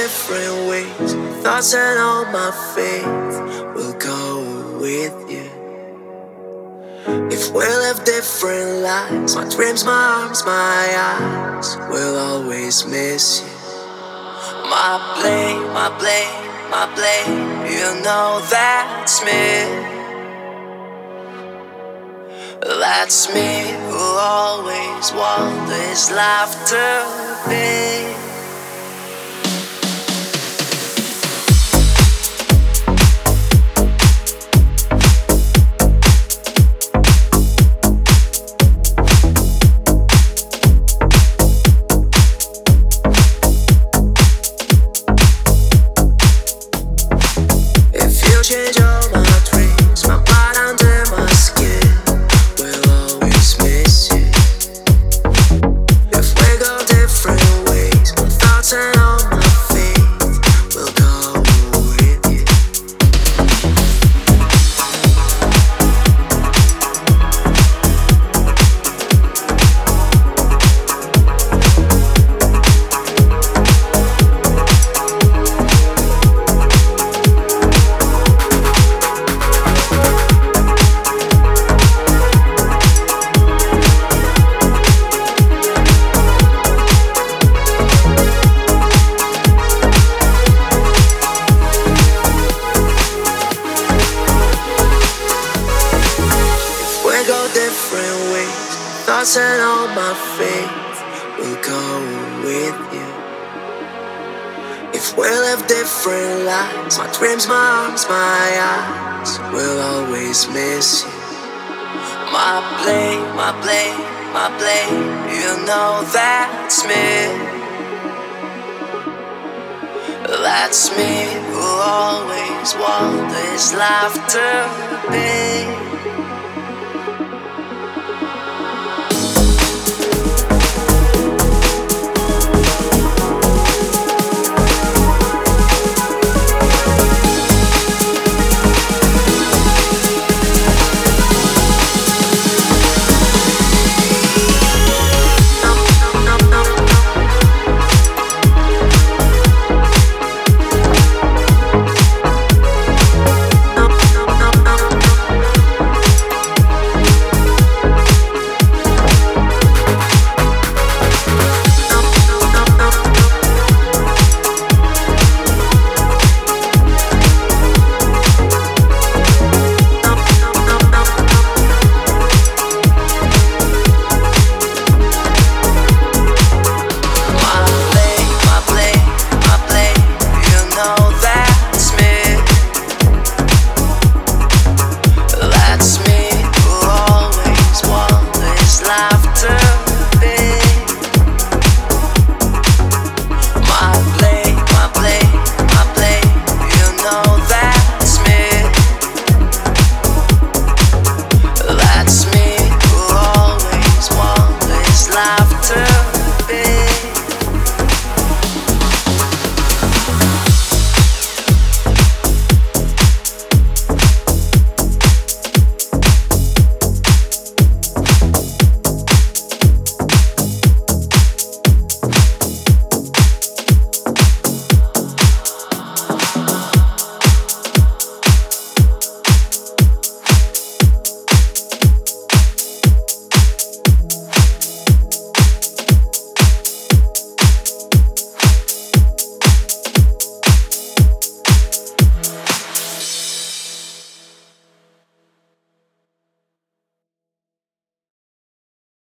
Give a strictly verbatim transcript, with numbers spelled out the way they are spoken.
different ways. Thoughts and all my faith will go with you. If we live different lives, my dreams, my arms, my eyes will always miss you. My blame, my blame, my blame, you know that's me. That's me who always want this life to be. If you change all my dreams, my blood under my skin will always miss you. If we go different ways, my thoughts and all my faith will go with you. We go different ways, thoughts and all my faith will go with you. If we live different lives, my dreams, my arms, my eyes will always miss you. My blame, my blame, my blame, you know that's me. That's me who always want this life to be.